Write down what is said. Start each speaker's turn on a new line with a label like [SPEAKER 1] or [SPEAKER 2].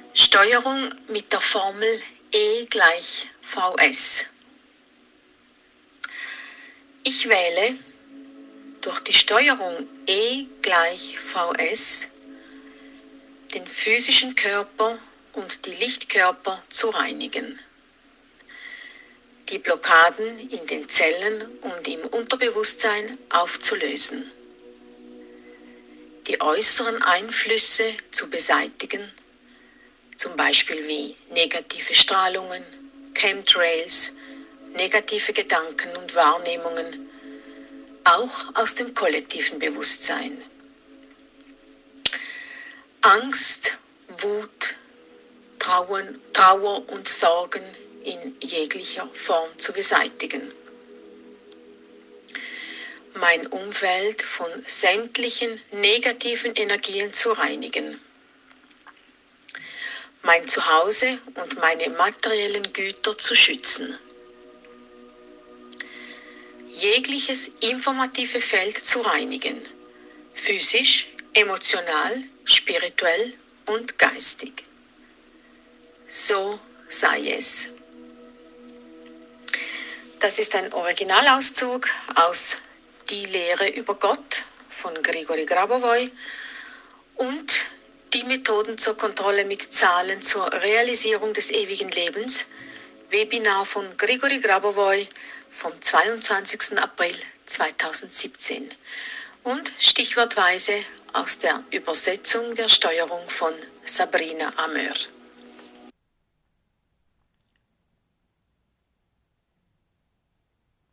[SPEAKER 1] Steuerung mit der Formel E = Vs. Ich wähle durch die Steuerung E = Vs den physischen Körper und die Lichtkörper zu reinigen, die Blockaden in den Zellen und im Unterbewusstsein aufzulösen, die äußeren Einflüsse zu beseitigen, zum Beispiel wie negative Strahlungen, Chemtrails, negative Gedanken und Wahrnehmungen, auch aus dem kollektiven Bewusstsein. Angst, Wut, Trauer und Sorgen in jeglicher Form zu beseitigen. Mein Umfeld von sämtlichen negativen Energien zu reinigen. Mein Zuhause und meine materiellen Güter zu schützen. Jegliches informative Feld zu reinigen, physisch, emotional, spirituell und geistig. So sei es. Das ist ein Originalauszug aus Die Lehre über Gott von Grigori Grabovoi und Die Methoden zur Kontrolle mit Zahlen zur Realisierung des ewigen Lebens, Webinar von Grigori Grabovoi vom 22. April 2017 und stichwortweise aus der Übersetzung der Steuerung von Sabrina Amör.